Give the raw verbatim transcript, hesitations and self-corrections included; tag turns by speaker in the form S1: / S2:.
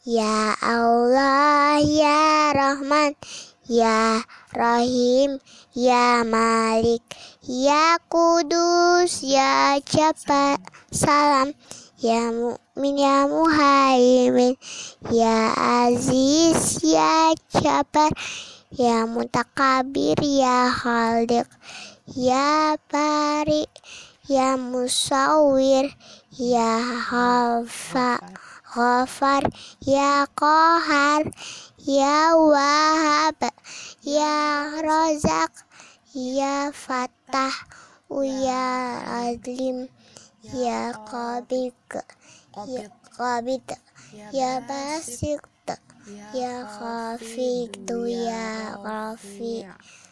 S1: Ya Allah, ya Rahman, ya Rahim, ya Malik, ya Kudus, ya Jabbar, salam, ya Mu'min, ya Muhaimin, ya Aziz, ya Jabbar, ya Mutakabir, ya Khaliq, ya Bari, ya Musawwir, ya Ghafa Ghafar, ya Qahar, ya Wahhab, ya Razak, ya Fattah, ya Adlim, ya Qabid, ya Qabid, ya Basit, ya Khafid, ya Rafi.